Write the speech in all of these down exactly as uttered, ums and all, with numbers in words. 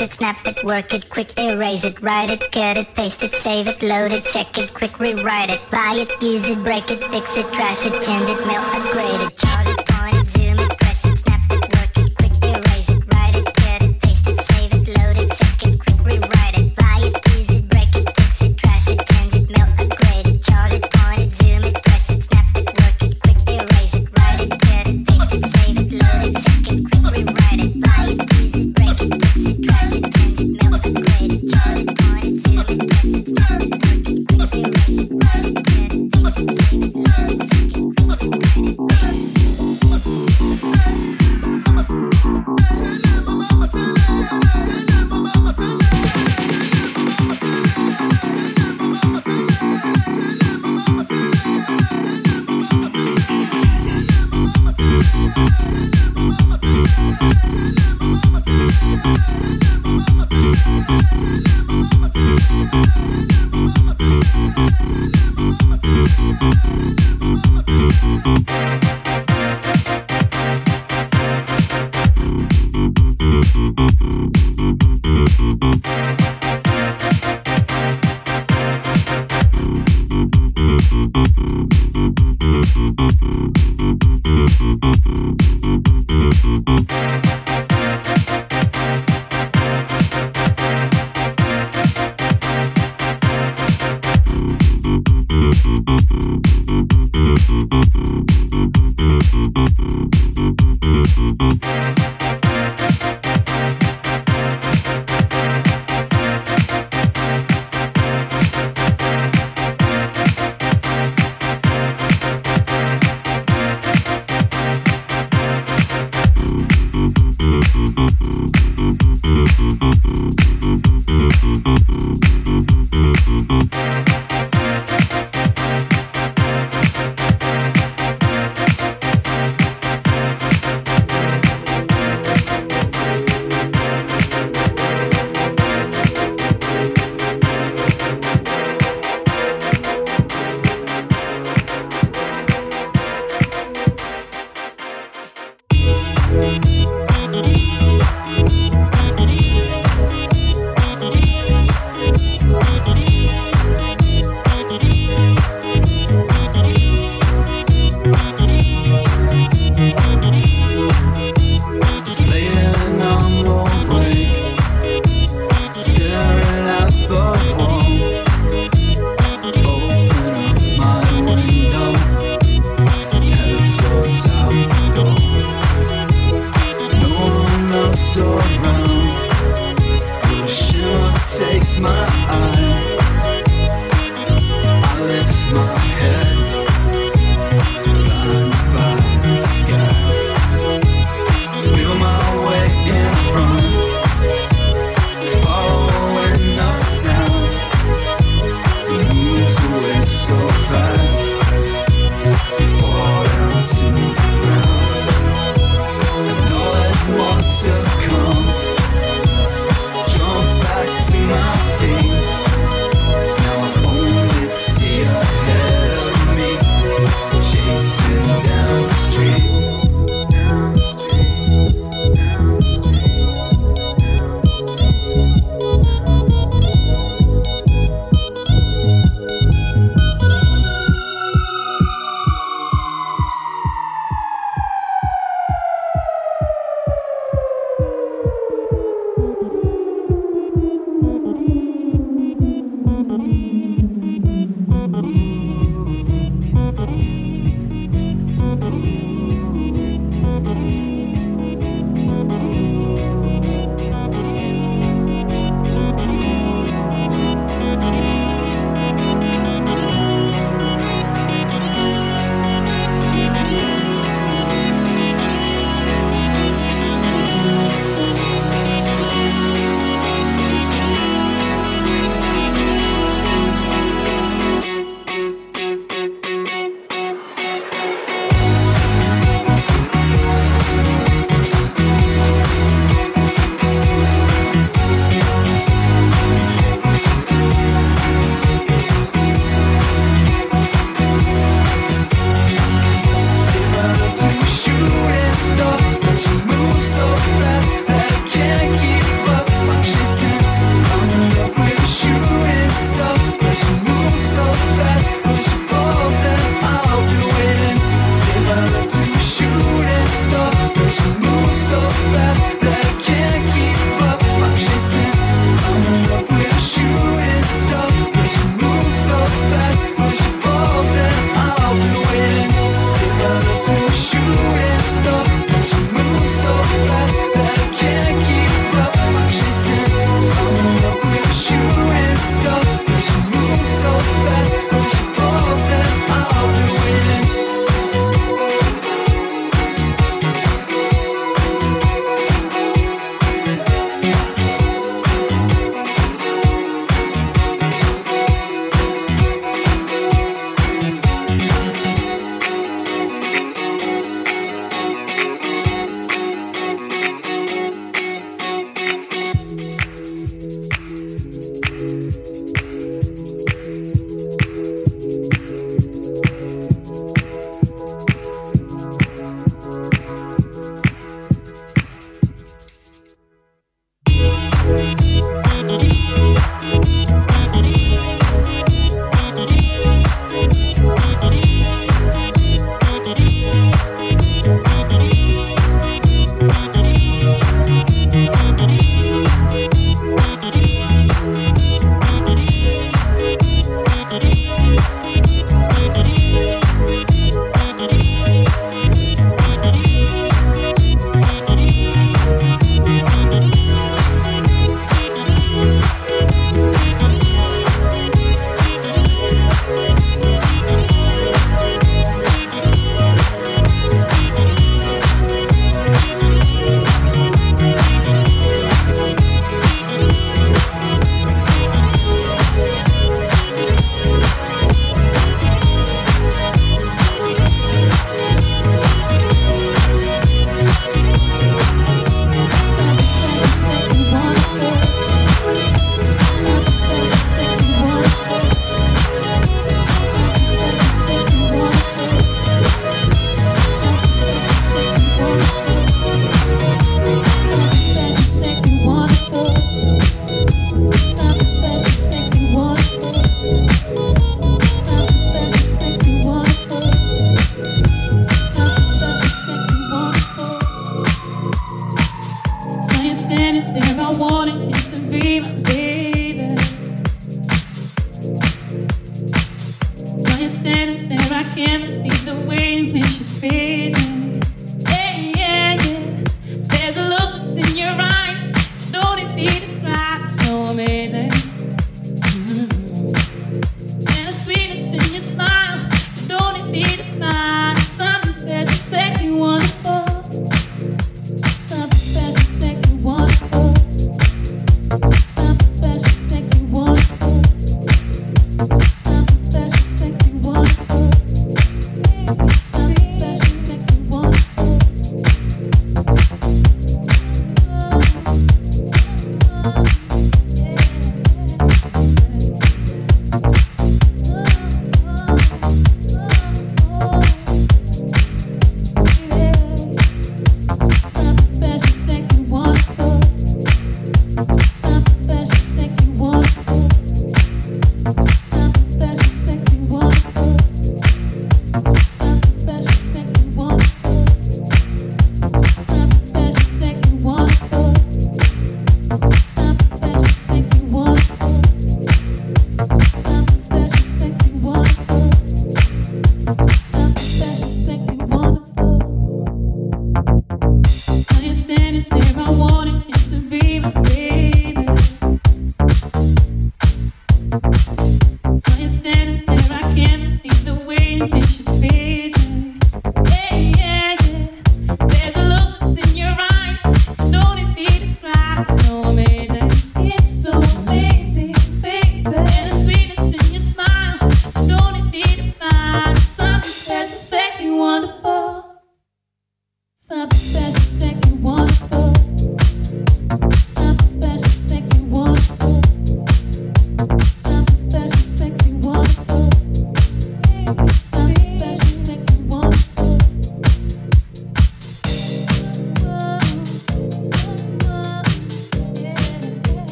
press it, snap it, work it, quick erase it, write it, cut it, paste it, save it, load it, check it, quick rewrite it, buy it, use it, break it, fix it, trash it, change it, mail, upgrade it, charge it, point it, zoom it, press it, snap it, work it, quick erase it, write it, cut it, paste it, save it, load it, check it, quick rewrite it, buy it, use it, break it, fix it, trash it, change it, mail, upgrade it, charge it, point it, zoom it, press it, snap it, work it, quick erase it, write it, cut it, paste it, save it, load it, check it, quick rewrite it, buy it, use it, break it, fix it, trash it, change it, mail, upgrade it, charge it, point it, zoom it, press it, snap it, work it, quick erase it, write it, cut it, paste it, save it, load it, check it, quick rewrite it.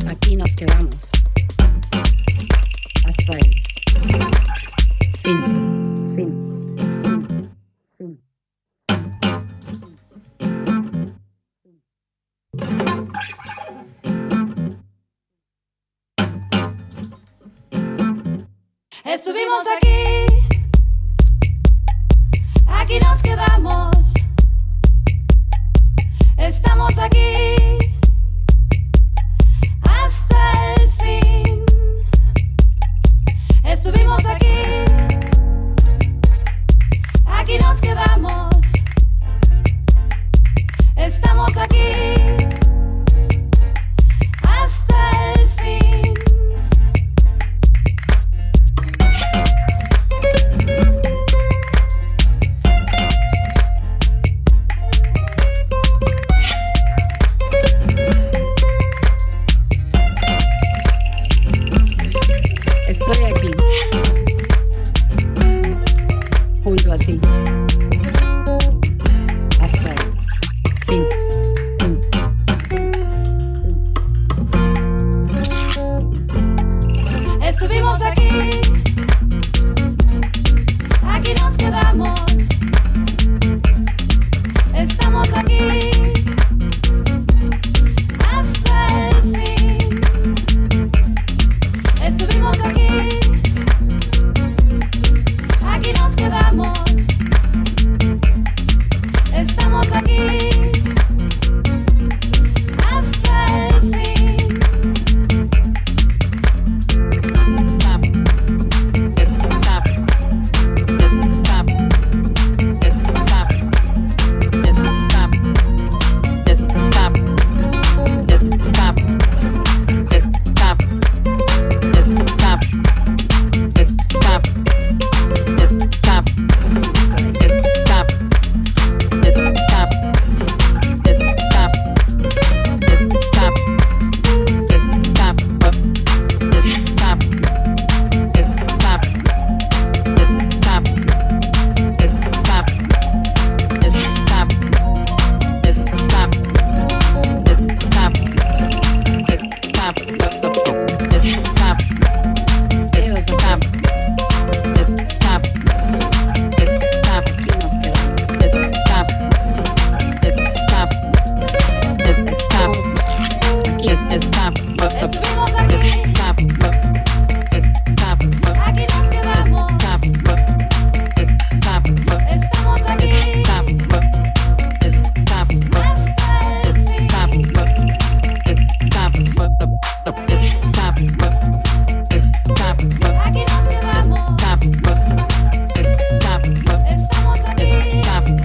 aquí nos quedamos hasta el fin. Fin. Fin. Estuvimos aquí, aquí nos quedamos, estamos aquí hasta el fin. Estuvimos aquí, aquí nos quedamos, estamos aquí hasta el fin. Estoy aquí, junto a ti, hasta el fin. Estuvimos aquí, aquí nos quedamos, estamos aquí hasta el fin. Estuvimos aquí, aquí nos quedamos, estamos aquí hasta el fin. Estuvimos aquí, aquí nos quedamos, estamos aquí hasta el fin. Aquí nos quedamos, estamos aquí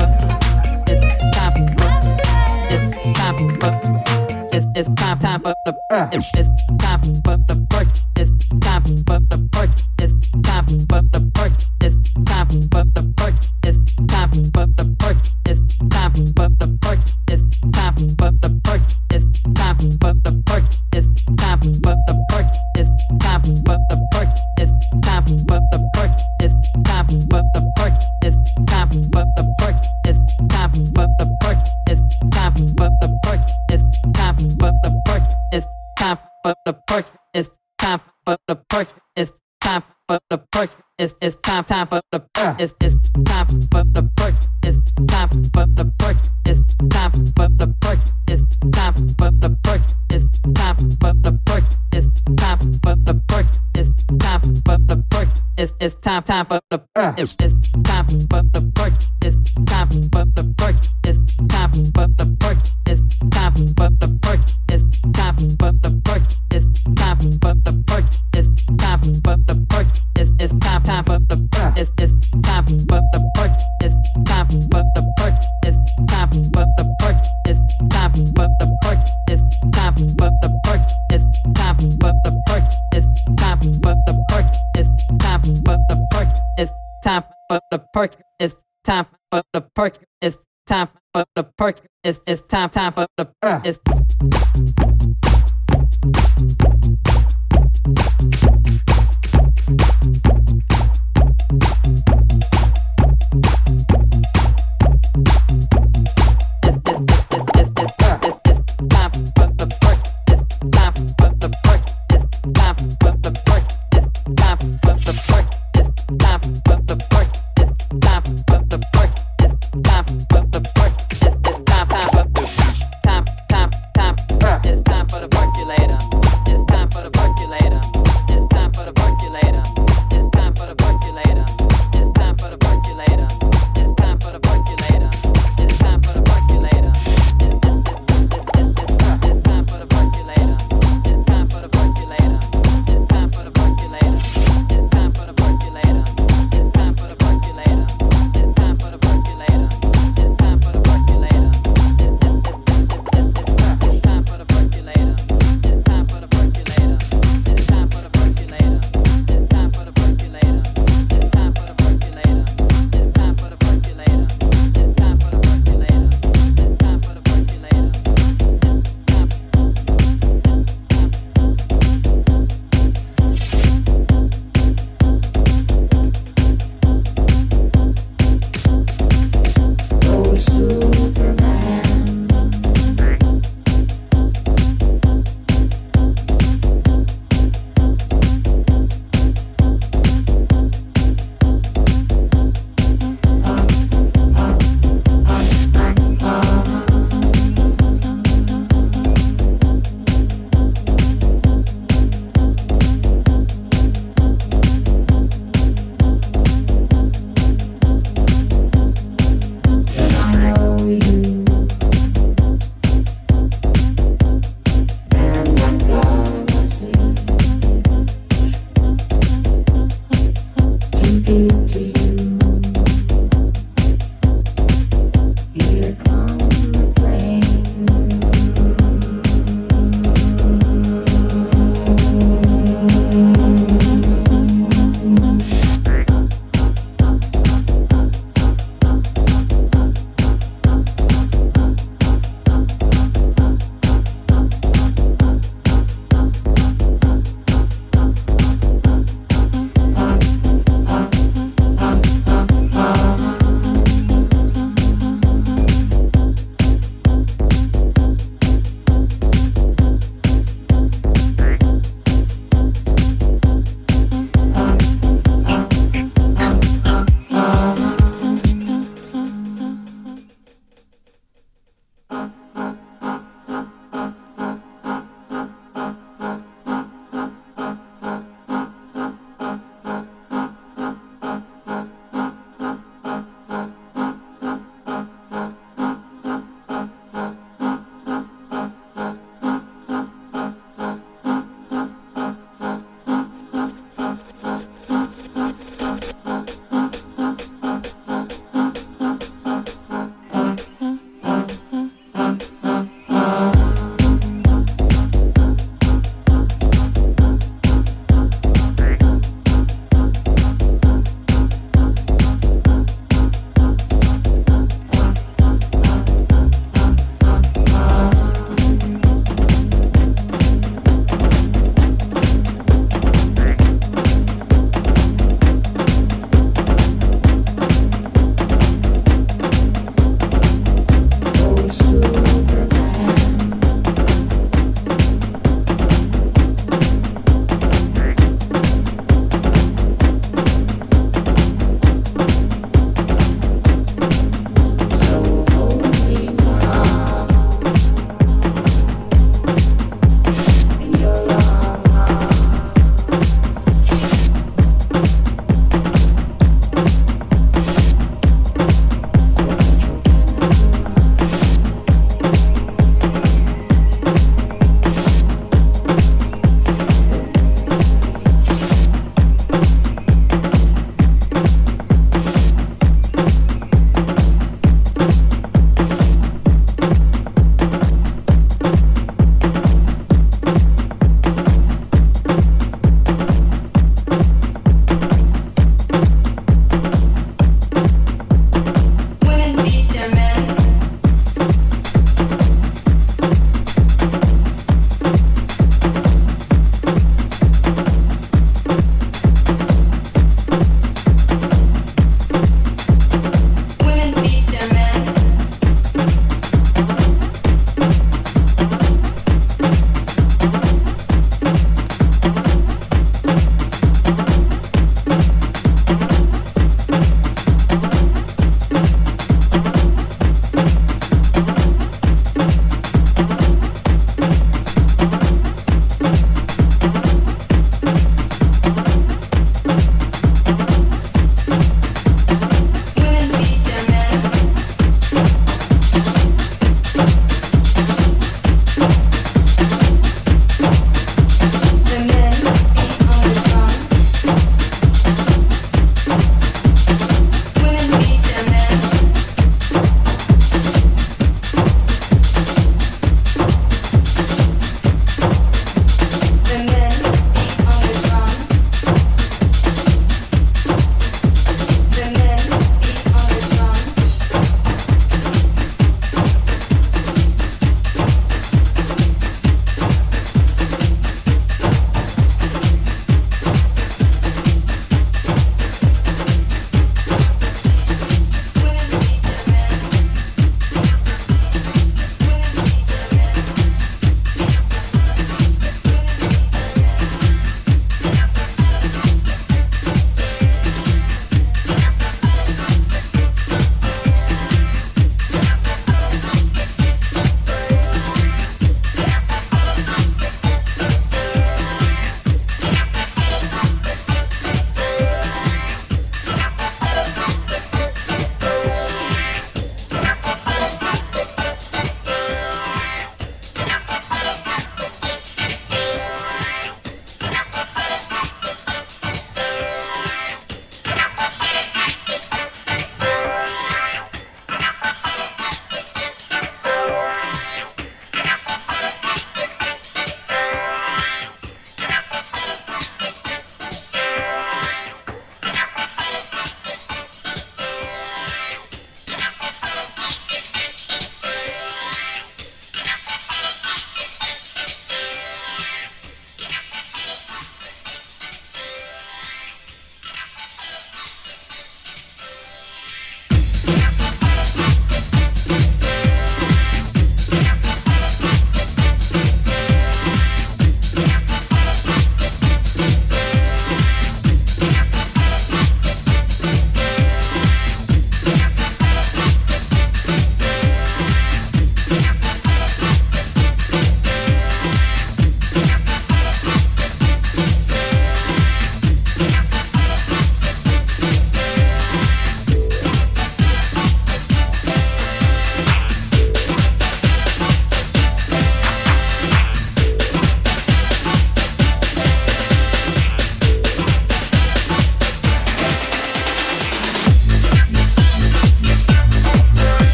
hasta el fin. It's, it's time, time for the, uh, it's time for the perk. It's time for the perk. It's time for the perk. It's time for the perk. It's time for the perk. It's time for the perk. It's time for the perk. It's time for the perk. It's time for the perk. It's time for the perk. It's time for the perk. It's time for the perk. It's time for the perk. It's time for the perk. It's time for the perk. It's time for the perk. It's time for the perk. It's time for the perk. It's time for the perk. It's it's time time for the uh. It's it's time for the perk. It's time for the perk. It's time for the perk. It's time for the perk. It's time for the perk. It's time for the perk. It's time for the perk. It's it's time time for the uh. It's it's time for the perk. It's time for the perk. It's time for the perk. It's time for the perk. It's time for the perk. It's time for the perk. It's time for the perk. It's it's time time for the uh. It's it's time for the perk. It's time for the perk. It's time for the perk. It's time for the perk. It's time for the perk. It's time for the perk. It's time for the perk. It's time for the perk. It's time for the perk. It's time for the perk. It's time for the perk. It's it's time time for the uh. It's It's, it's, it's, it's, it's, uh, it's, it's time for the perk. It's time for the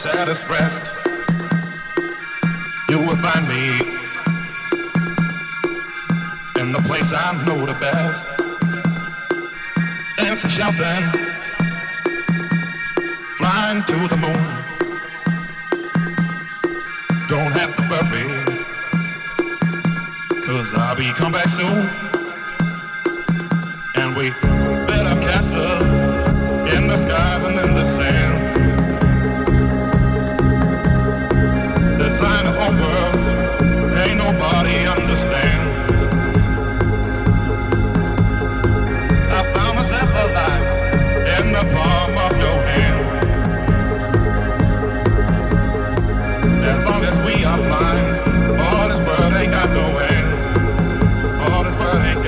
saddest rest, you will find me in the place I know the best. Dancing, shouting, flying to the moon. Don't have to worry, 'cause I'll be come back soon. And we built up castles in the skies and in the sand. Design a whole world, ain't nobody understand. I found myself alive in the palm of your hand. As long as we are flying, all this world ain't got no ends. All this world ain't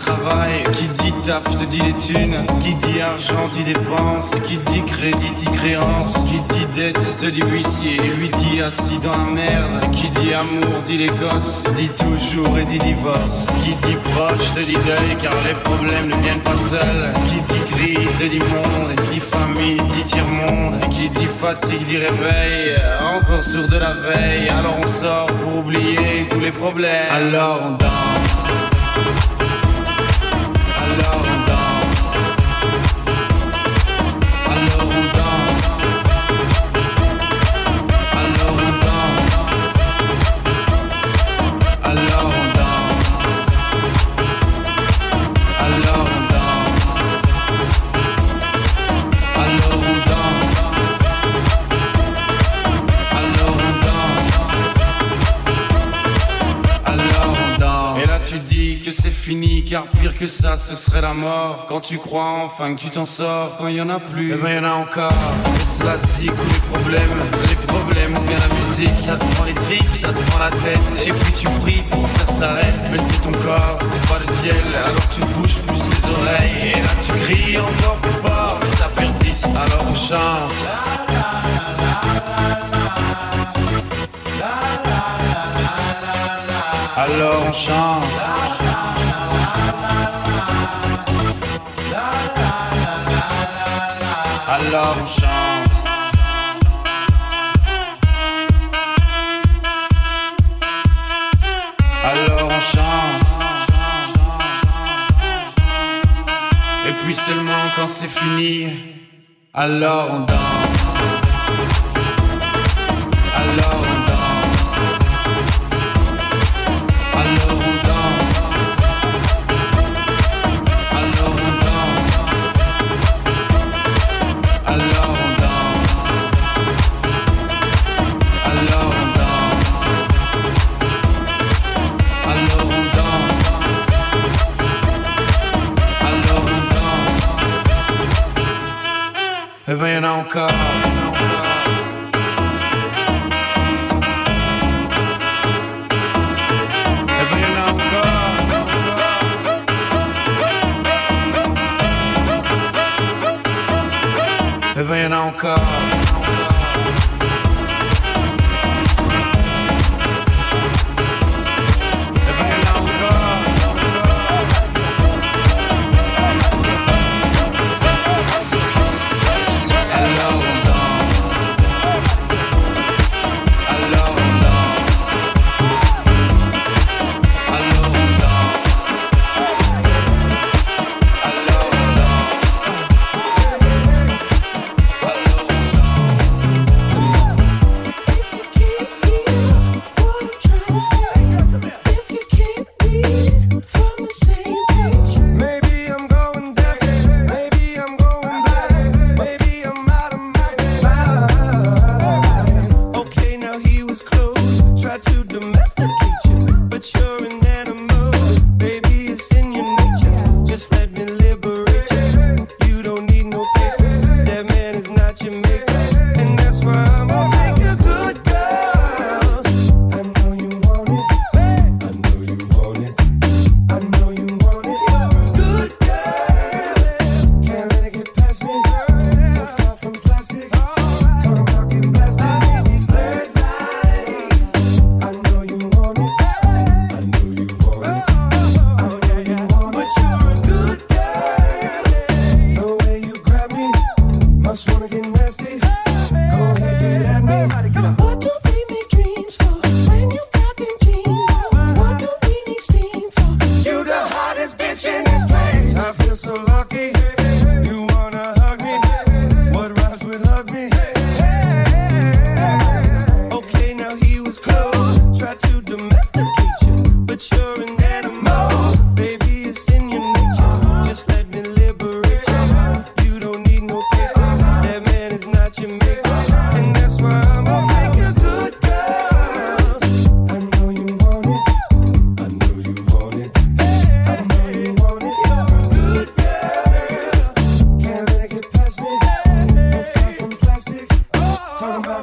travail. Qui dit taf te dit les thunes. Qui dit argent dit dépense. Qui dit crédit dit créance. Qui dit dette te dit huissier. Lui dit assis dans la merde. Qui dit amour dit les gosses. Dit toujours et dit divorce. Qui dit proche te dit deuil car les problèmes ne viennent pas seuls. Qui dit crise te dit monde. Dit famille dit tiers-monde. Qui dit fatigue dit réveil. Encore sourd de la veille. Alors on sort pour oublier tous les problèmes. Alors on danse. Alors on danse. Alors on danse. Alors on danse. Alors on danse. Alors on danse. Alors on danse. Alors on danse. Alors on danse. Et là tu dis que c'est fini, car pire que ça ce serait la mort. Quand tu crois enfin que tu t'en sors, quand il y en a plus, eh ben y en a encore. Et cela zig tous les problèmes, les problèmes ou bien la musique. Ça te prend les tripes, ça te prend la tête. Et puis tu pries pour que ça s'arrête. Mais c'est ton corps, c'est pas le ciel. Alors tu bouges plus les oreilles. Et là tu cries encore plus fort, mais ça persiste. Alors on chante. Alors on chante. Alors on chante. Alors on chante. Et puis seulement quand c'est fini, alors on danse. Alors on danse. Alors on danse. Alors on danse. Alors on danse. Alors on danse. Alors on danse. Alors on danse. Eh ben y'en a encore. Eh ben y'en a encore. Eh ben y'en a encore. Alors on danse. Alors on danse. Alors on danse. Alors on danse.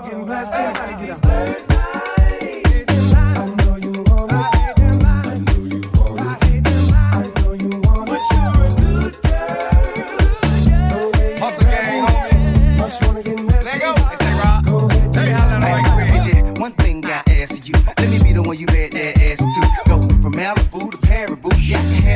I know you want it. I know you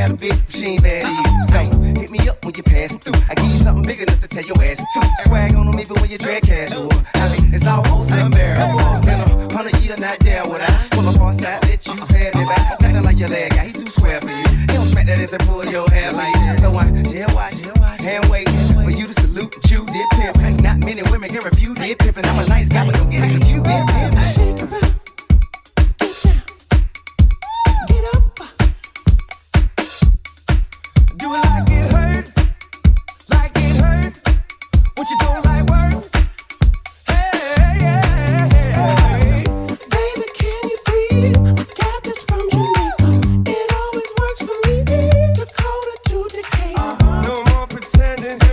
had a bitch, but she ain't bad to you. So hit me up when you pass through. I give you something big enough to tell your ass to. Swag on them even when you drag casual. I mean, it's almost unbearable. In a hundred year, not there would I pull up on side, let you pay me back. Nothing like your leg guy, he too square for you. He don't smack that ass and pull your hair like that. So I jail watch, hand wait for you to salute that you did pimp. Not many women can refuse did pimpin'. I'm a nice guy, but don't get it confused. Did pimp. Shake around, get down, get up. Do it like it hurt, like it hurt. What you don't like work? Hey, hey, hey, hey. Baby, can you please? I got this from Jamaica. It always works for me. Dakota to Decatur. Uh-huh. No more pretending.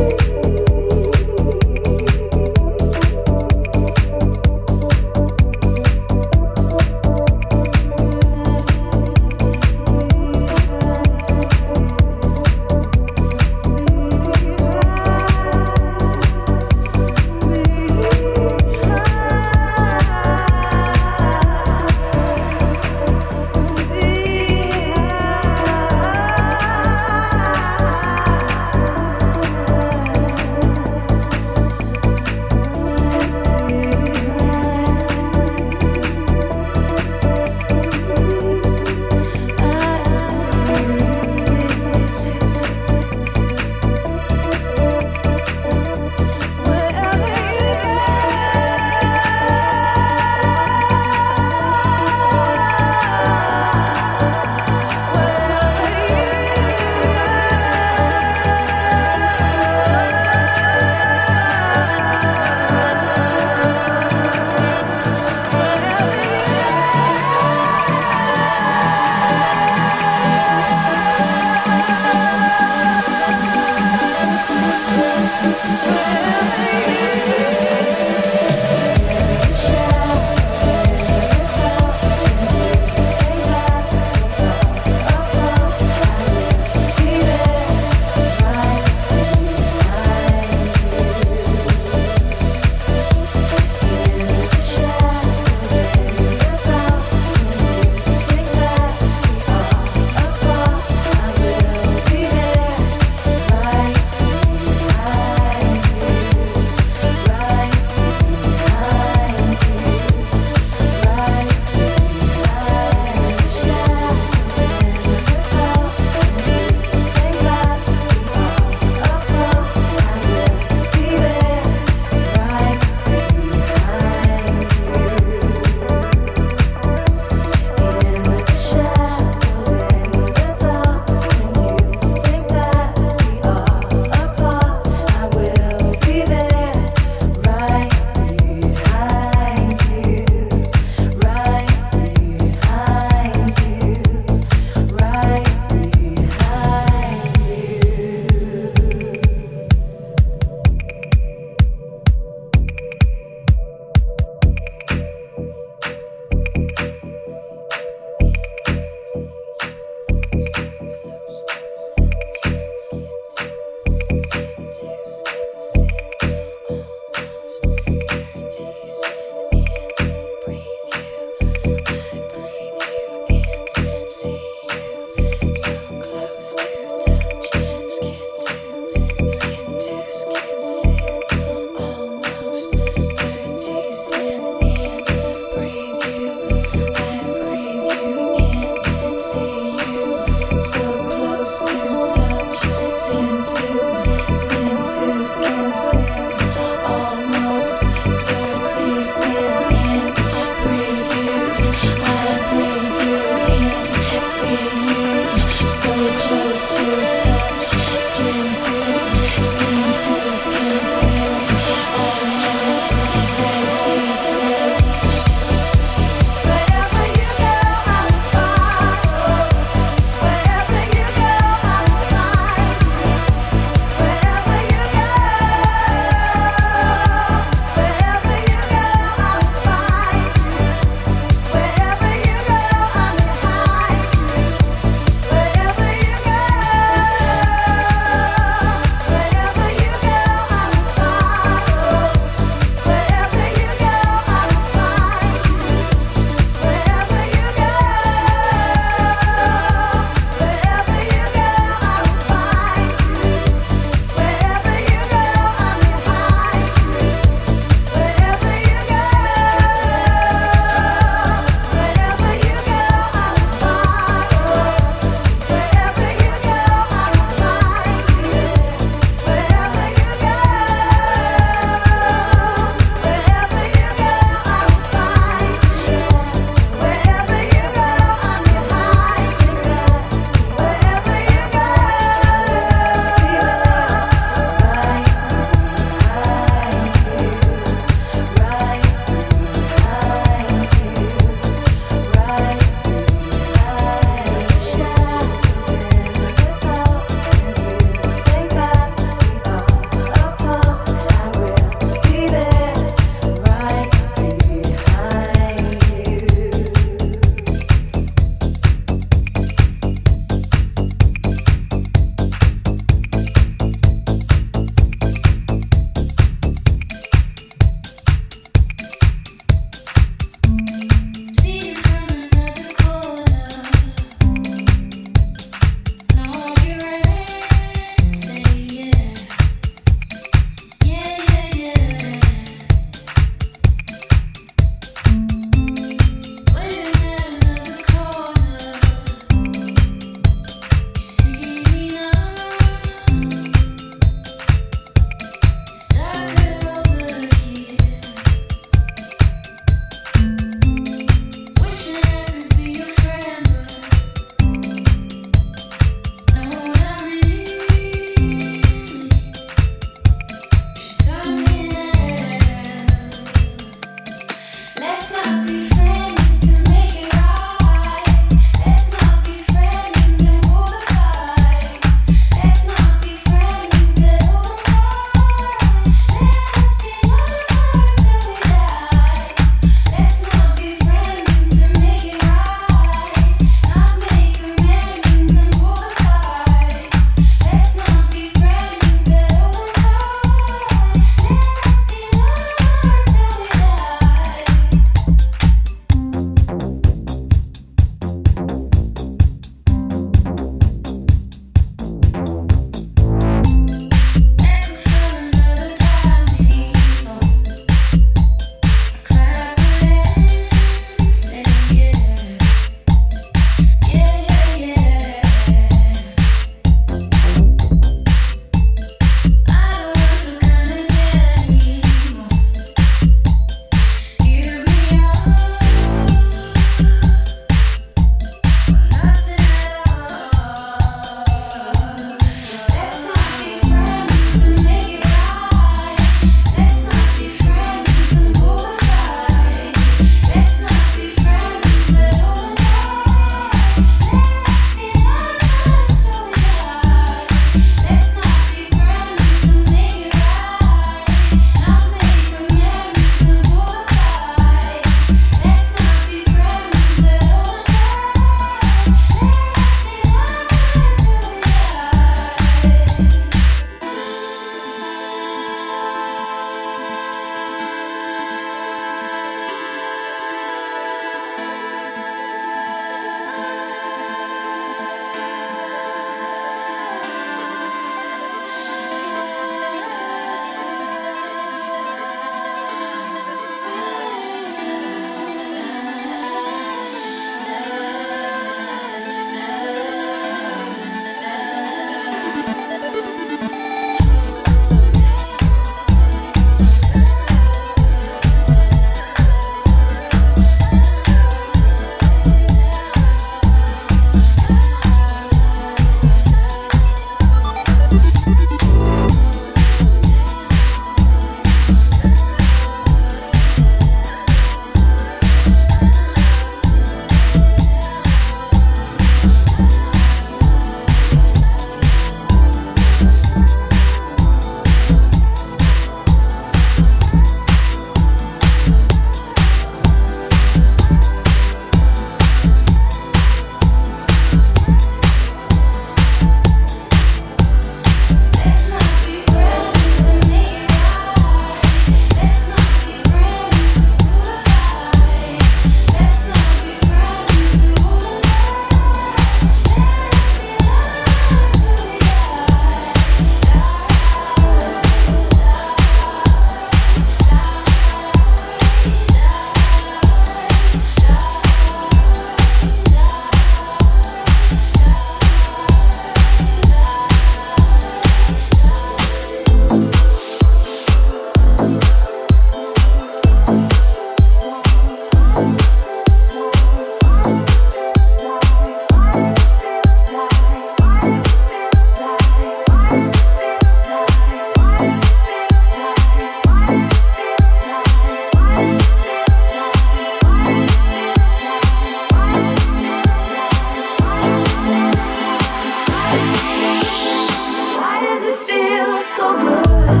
feels so good.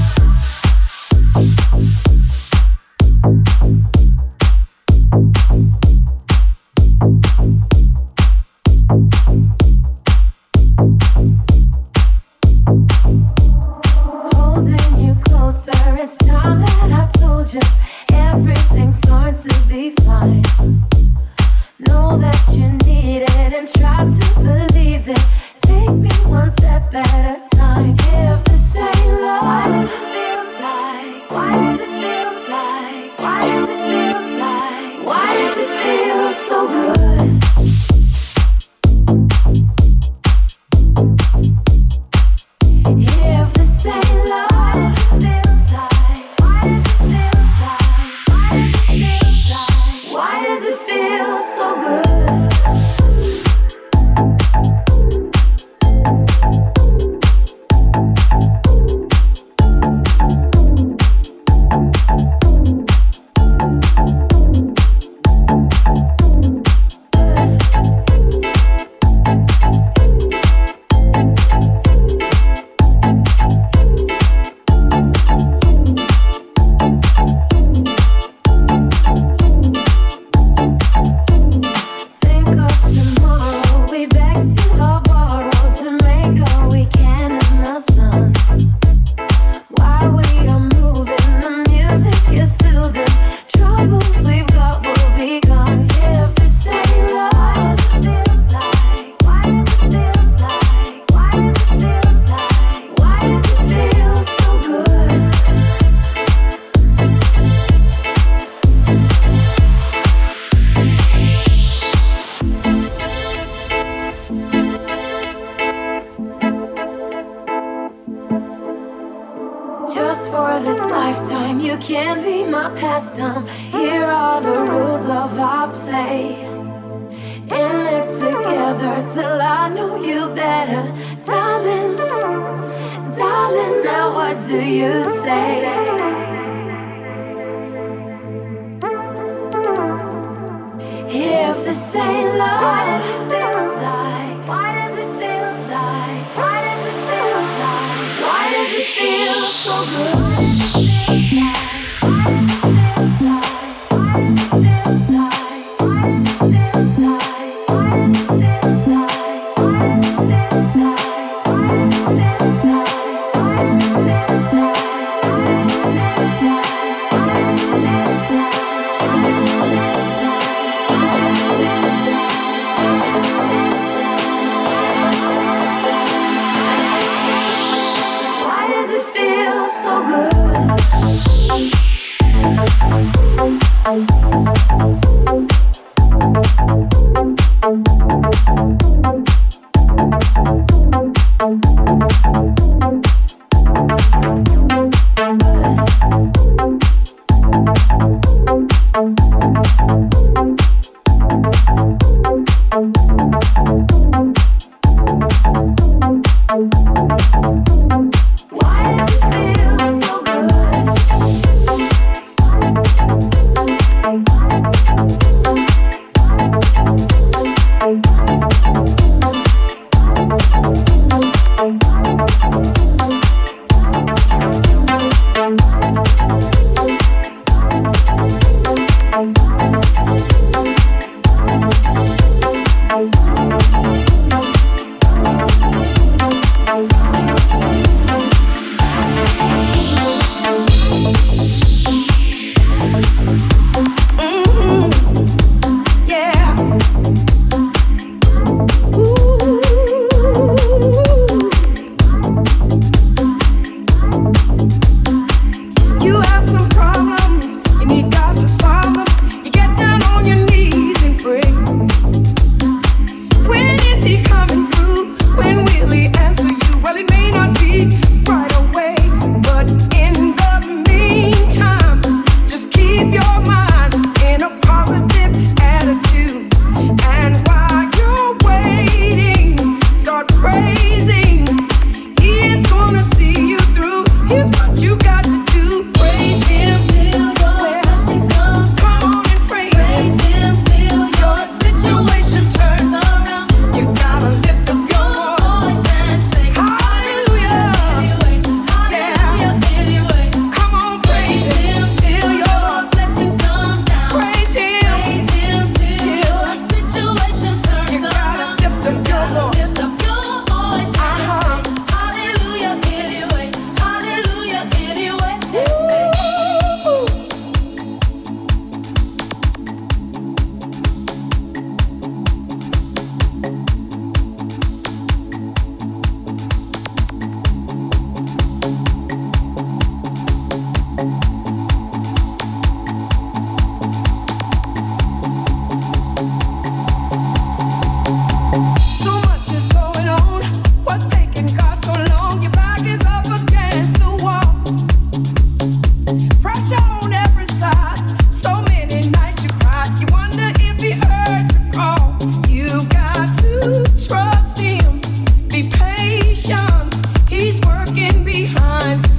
Holding you closer, it's time that I told you everything's going to be fine. Know that you need it and try to believe it. Take me one step at a time. If this ain't love, why does it feel like? Why does it feel like? Why does it feel like? Why does it feel so good? If this ain't love, feels like. Why does it feel like? Why does it feel like? Why does it feel so good? Just for this lifetime, you can be my pastime. Here are the rules of our play. In it together till I know you better. Darling, darling, now what do you say? If this ain't love, feels like. Why does it feel like? Why does it feel like? Why does it feel so good?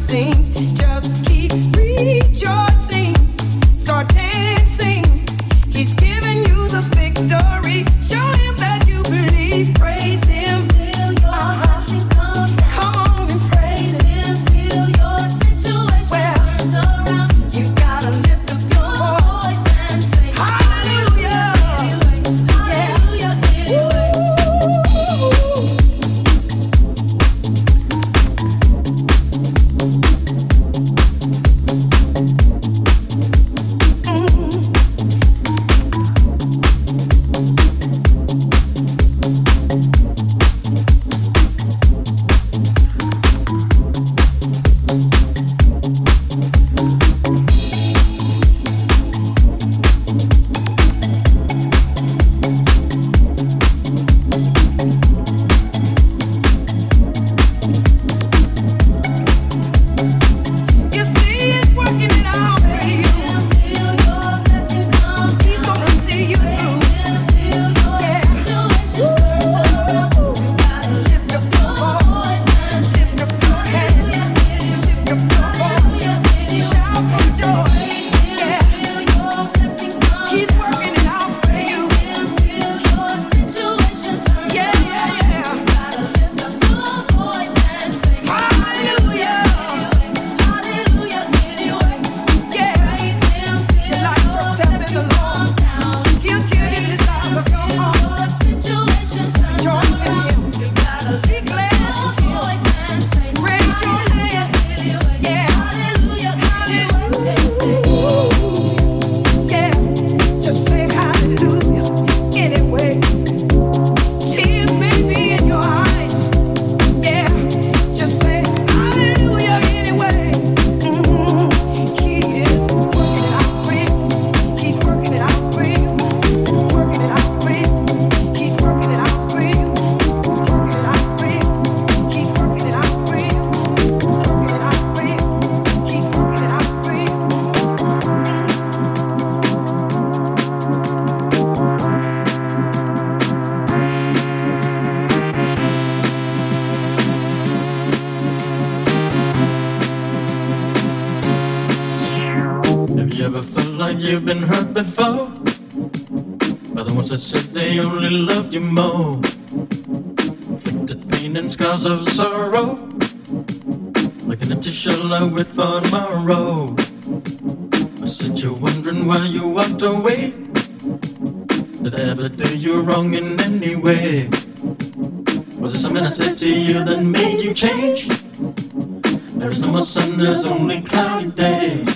sings. Just keep rejoicing. Start dancing. He's giving you the victory. Show him that you believe. Praise him till your uh-huh. blessings come down. Come on and praise, praise him till your situation well, turns around. You gotta lift up your voice and say hallelujah. Hallelujah. Anyway. You've been hurt before by the ones that said they only loved you more. Inflicted pain and scars of sorrow, like an empty shell I wait for tomorrow. I said you're wondering why you walked away. Did I ever do you wrong in any way? Was it something I said to you that made you change? There is no more sun, there's only cloudy days.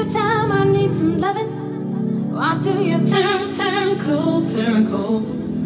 Every time I need some loving, why do you turn, turn cold, turn cold?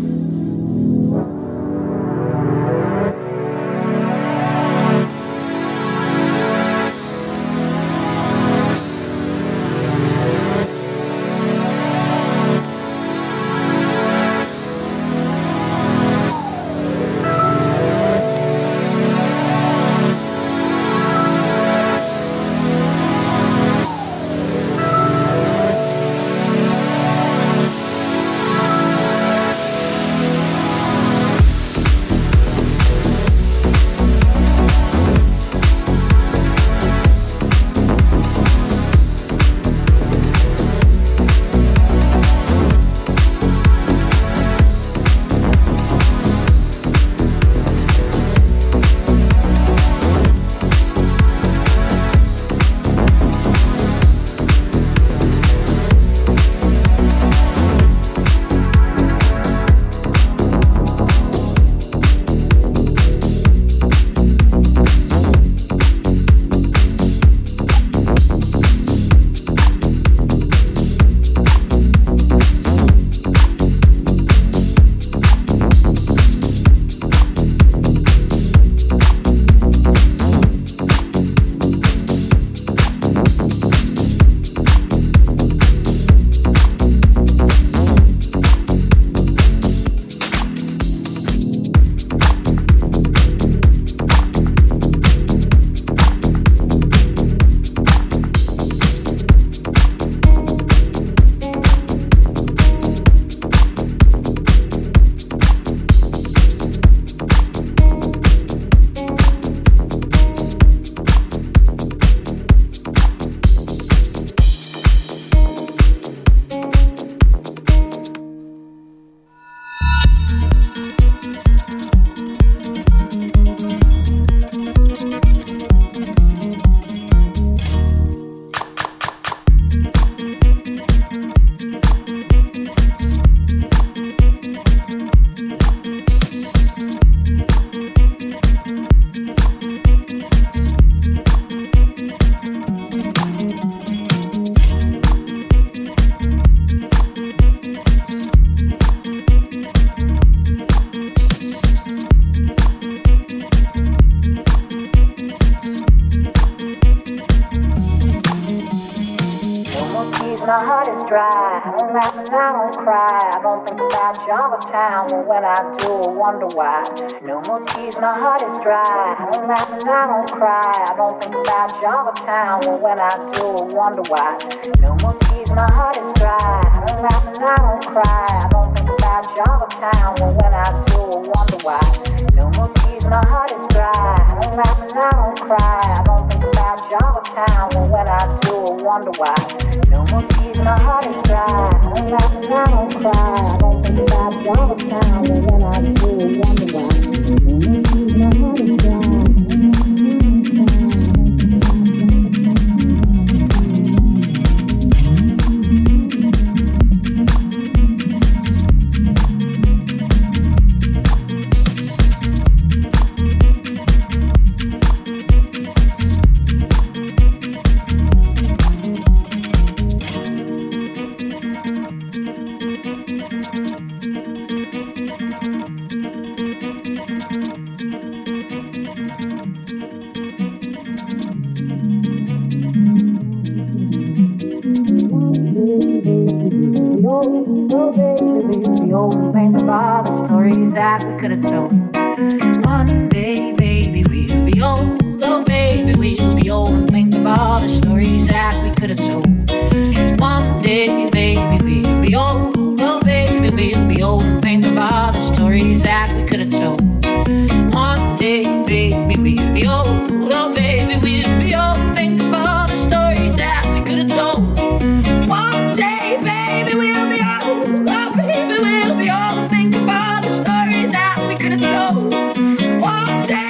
My heart is dry, I don't laugh and I don't cry. I don't think about Java Town, but when I do, I wonder why. No more tears, my heart is dry, I don't laugh and I don't cry. I don't think about Java Town, but when I do, I wonder why. No more tears, my heart is dry, I don't laugh and I don't cry. I don't think about Java Town, but when I do, I wonder why. No more tears, my heart is dry, I don't laugh and I don't cry. I don't think about Java Town, but when I do, I wonder why. No more tears, my heart is dry. I don't laugh and I don't cry. I don't think about Java Town, but when I do, I wonder why. No more tears, my heart is dry.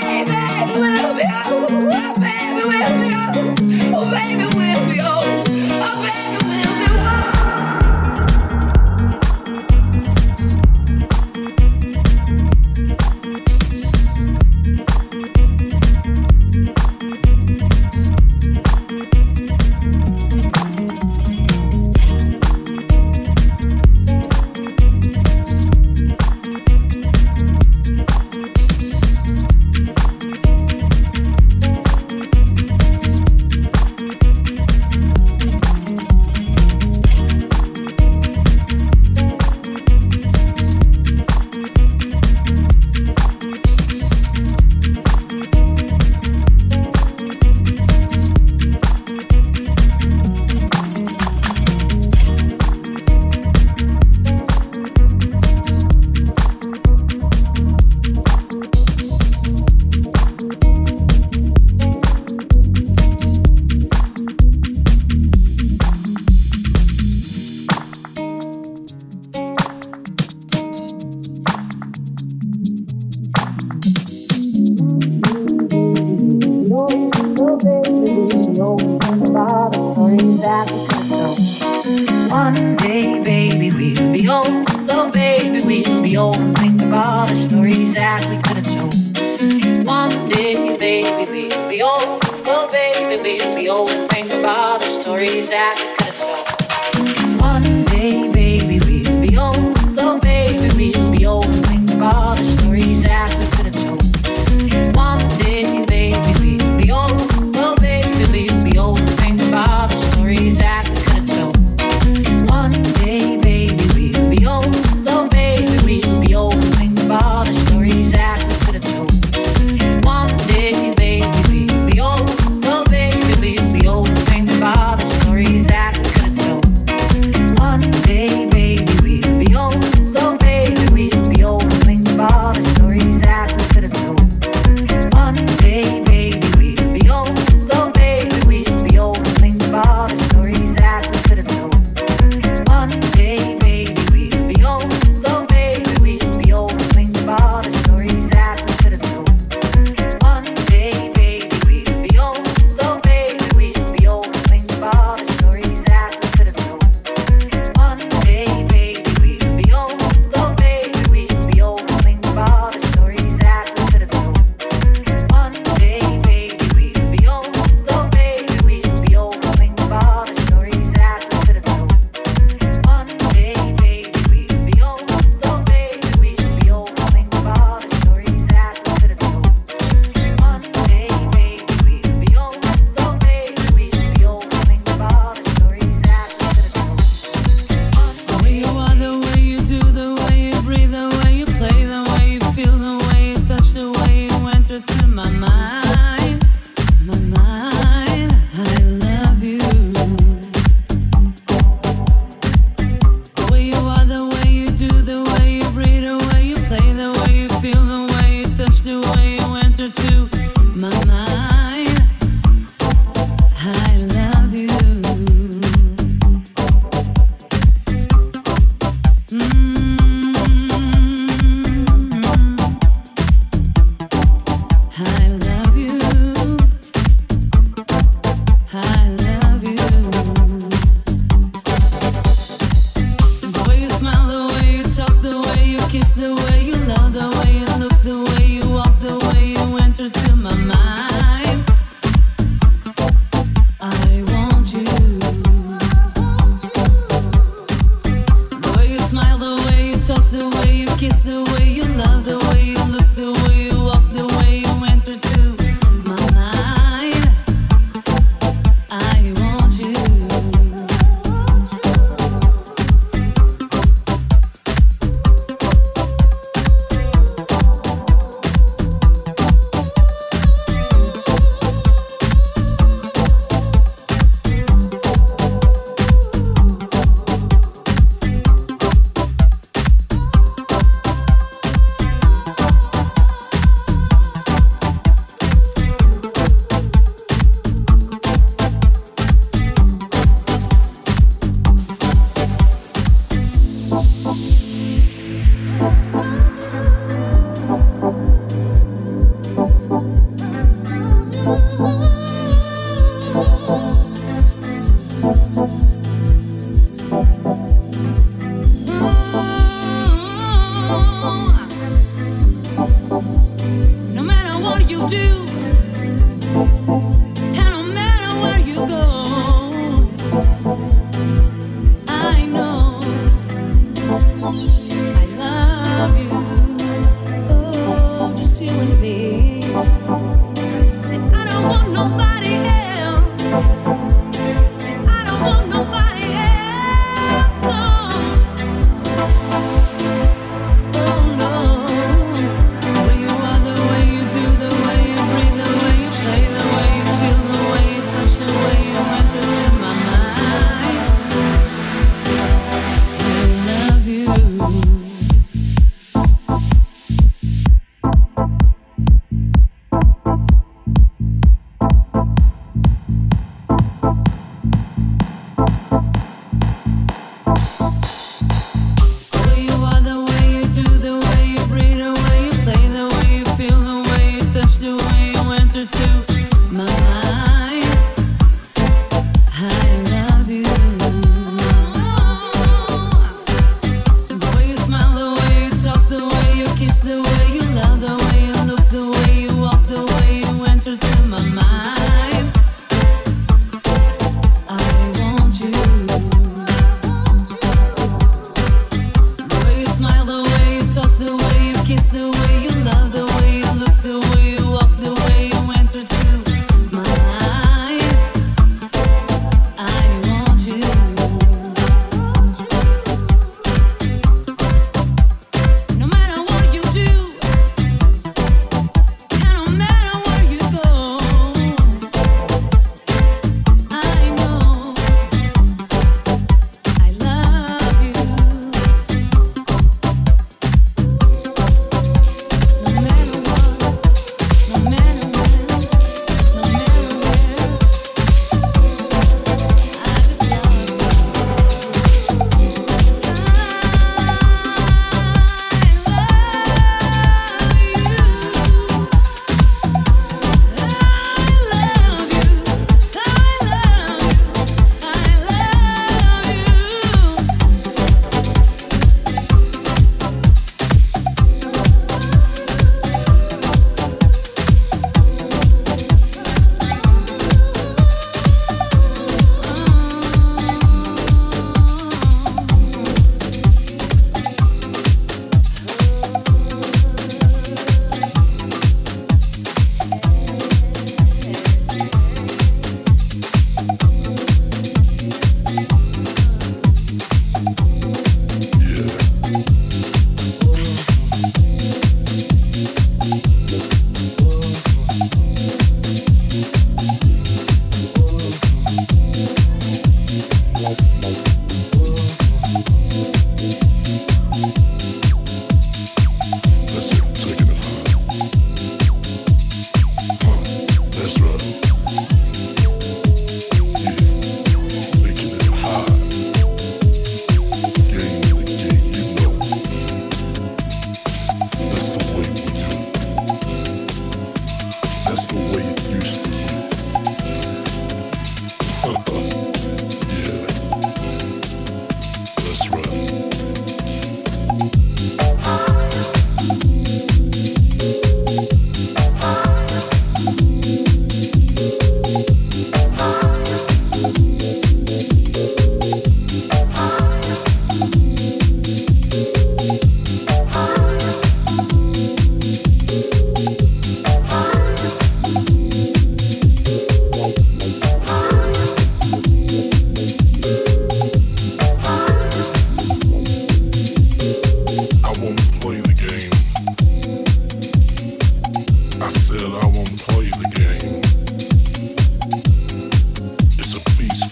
Oh, baby, we'll be old. One day, baby, we'll be old. Oh, baby, we'll be old and think of all the stories that we could have told. One day, baby, we'll be old. Oh, baby, we'll be old and think of all the stories that we could have told. One day, baby, we'll be old. Oh, baby, we'll be old and think of all the stories that we could have told. One day, baby, we'll be old. Oh, baby, we'll be old and think of all the stories that we could have told. One day, baby, we'll be old. Oh, baby, we'll be old and think of all the stories that we could have told. One day, baby, we'll be old. Oh, baby, we'll be old and think of all the stories that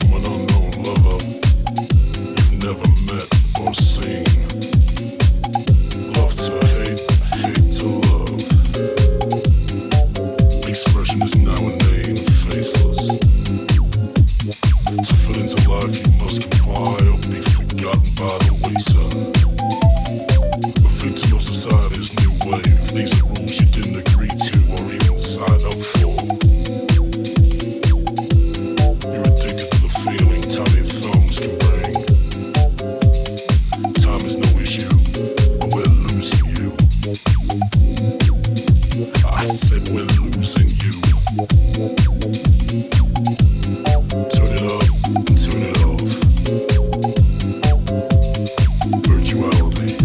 from an unknown lover you've never met or seen. Love to hate, hate to love. Expression is now a name, faceless. To fit into life you must comply or be forgotten by the wayside. A victim of society's new wave. These are rules you didn't agree to or even sign up for. You're addicted to the feeling tiny thumbs can bring. Time is no issue, but we're losing you. I said we're losing you. Turn it up and turn it off. Virtuality.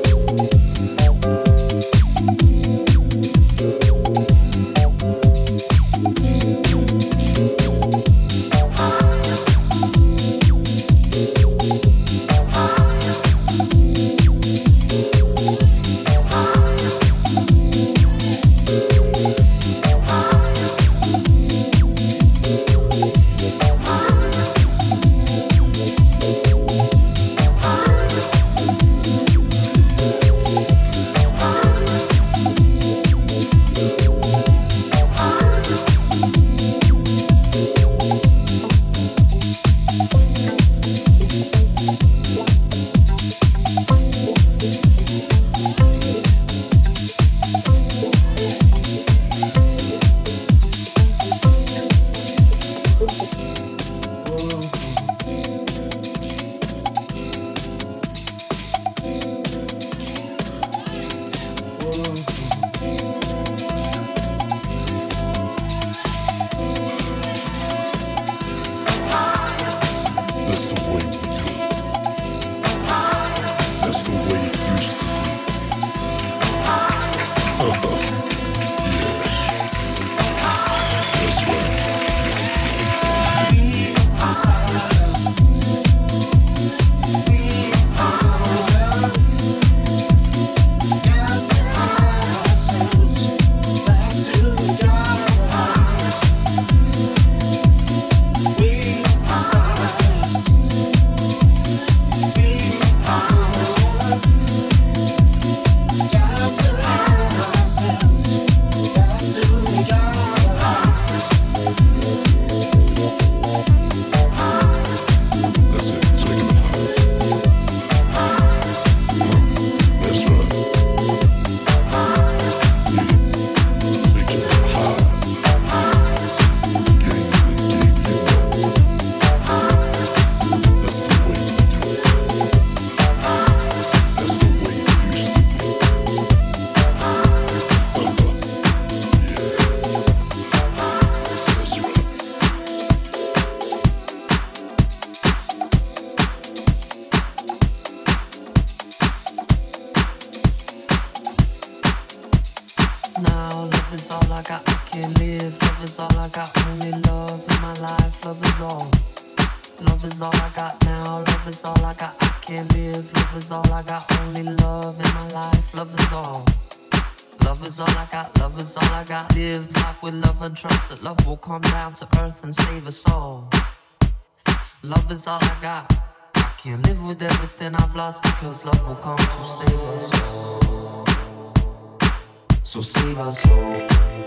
Trust that love will come down to earth and save us all. Love is all I got. I can't live with everything I've lost because love will come to save us all. So save us all.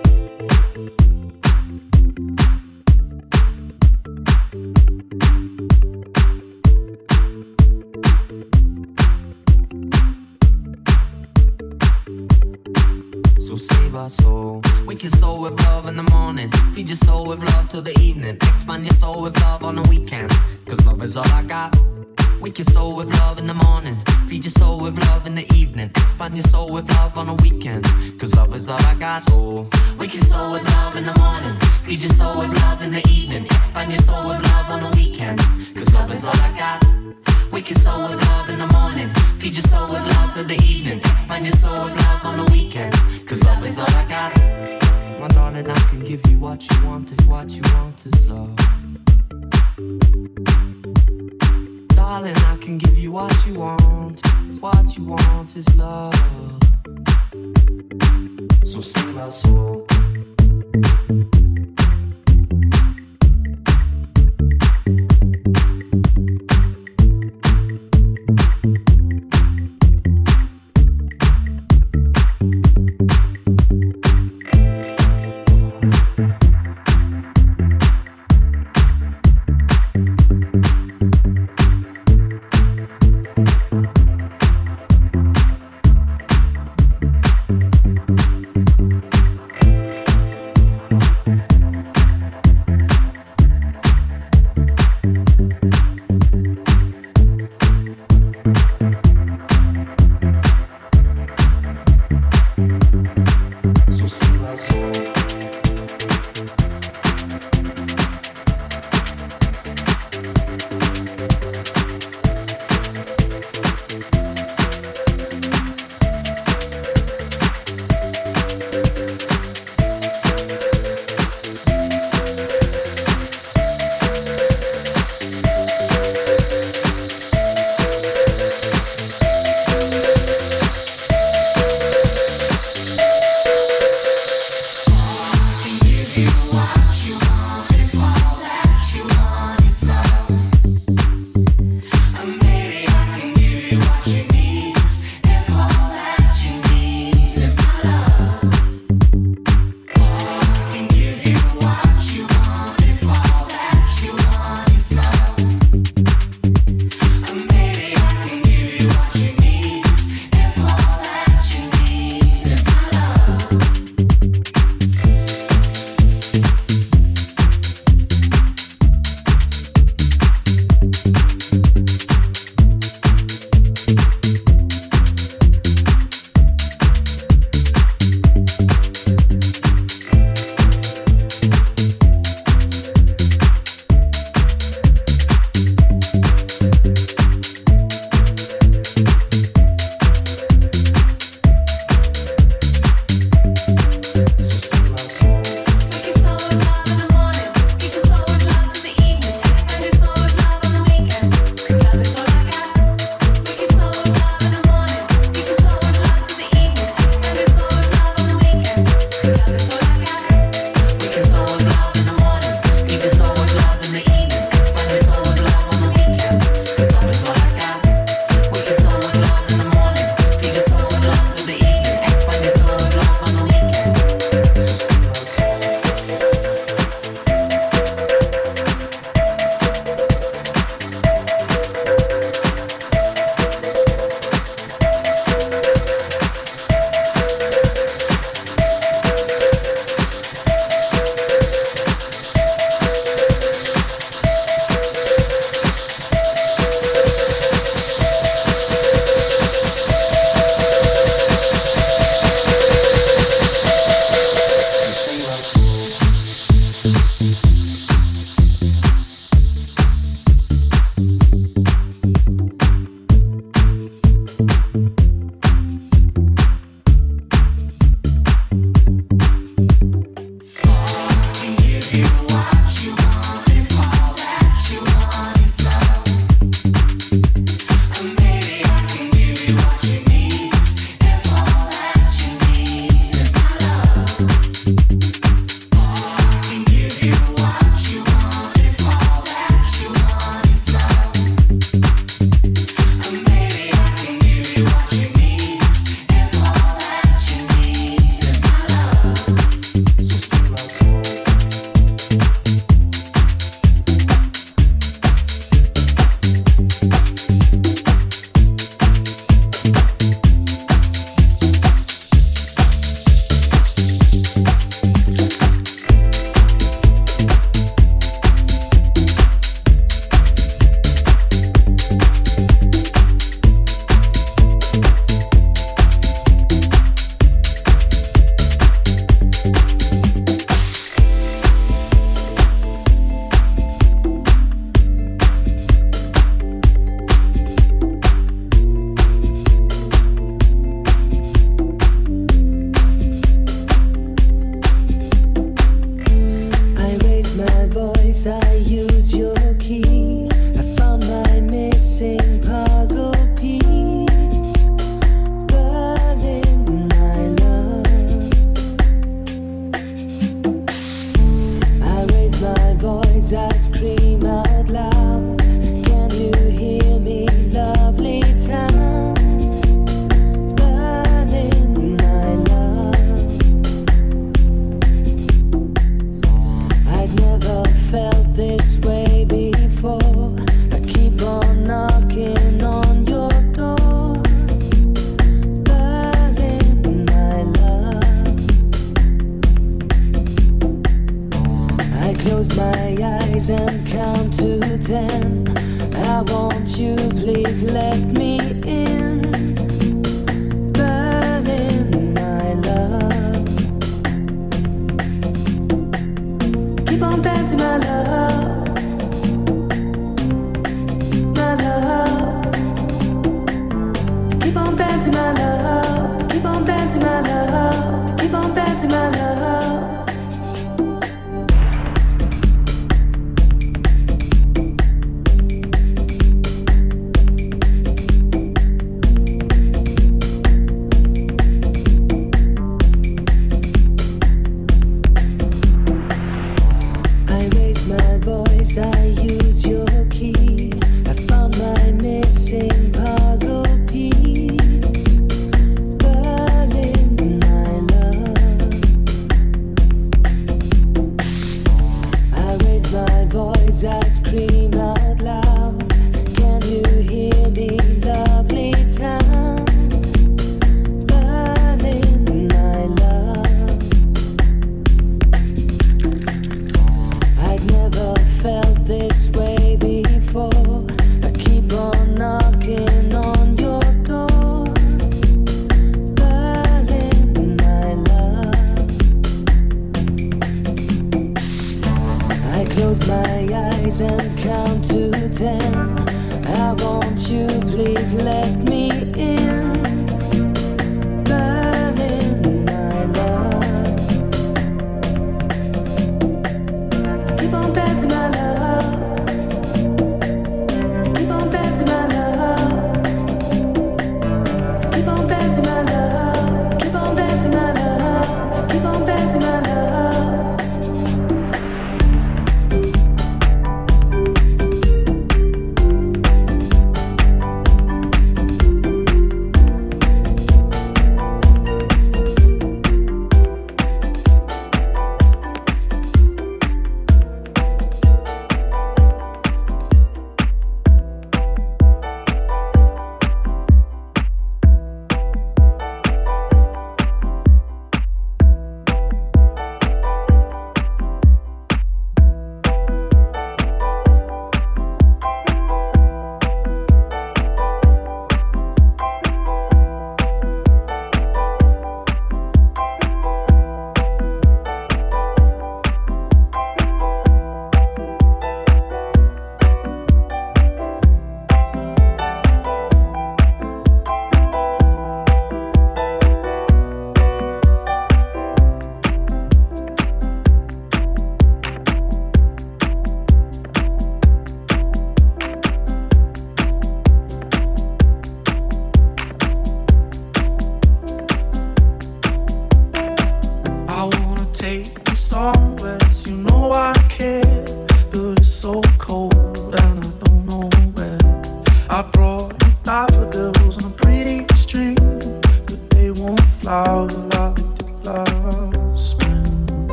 So save our soul. Wake your soul with love in the morning. Feed your soul with love till the evening. Expand your soul with love on the weekend. Cause love is all I got. Wake your soul with love in the morning. Feed your soul with love in the evening. Expand your soul with love on the weekend. Cause love is all I got. So wake your soul with love in the morning. Feed your soul with love in the evening. Expand your soul with love on the weekend. Cause love is all I got. Wake your soul with love in the morning. Feed your soul with love till the evening. Expand your soul with love on the weekend. Cause love is all I got. My darling, I can give you what you want if what you want is love. Darling, I can give you what you want. What you want is love. So save our soul. I want you, please let me in. Berlin, my love. Keep on dancing, my love. My love. Keep on dancing, my love. Keep on dancing, my love. Keep on dancing, my love. I use your key. I found my missing puzzle piece. Berlin, my love. I raise my voice, I scream out loud. Can you hear me, lovely town? Berlin, my love. I'd never felt this way before. I keep on knocking on your door. Berlin, my love. I close my eyes and count to ten. I want you, please let me in. Berlin, my love. Keep on dancing, my love. Keep on dancing, my love. Keep on dancing, my love. Keep on dancing, my love. Keep on dancing, my love.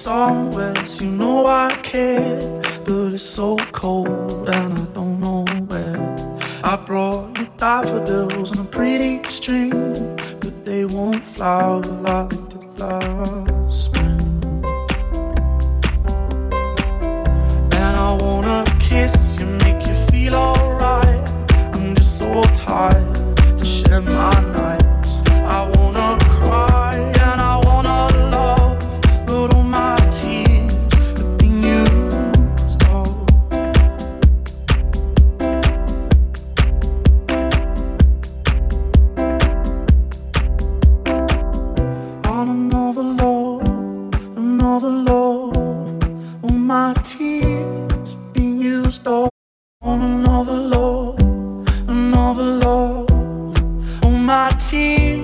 somewhere, so you know I care. But it's so cold and I don't know where. I brought you daffodils on a pretty string, but they won't flower like they did last spring. And I wanna kiss you, make you feel alright. I'm just so tired to share my nights. I wanna cry and I wanna love, but all my tears have been used up. On another love, another love, all my tears have been used up. On another love, another love, all my tears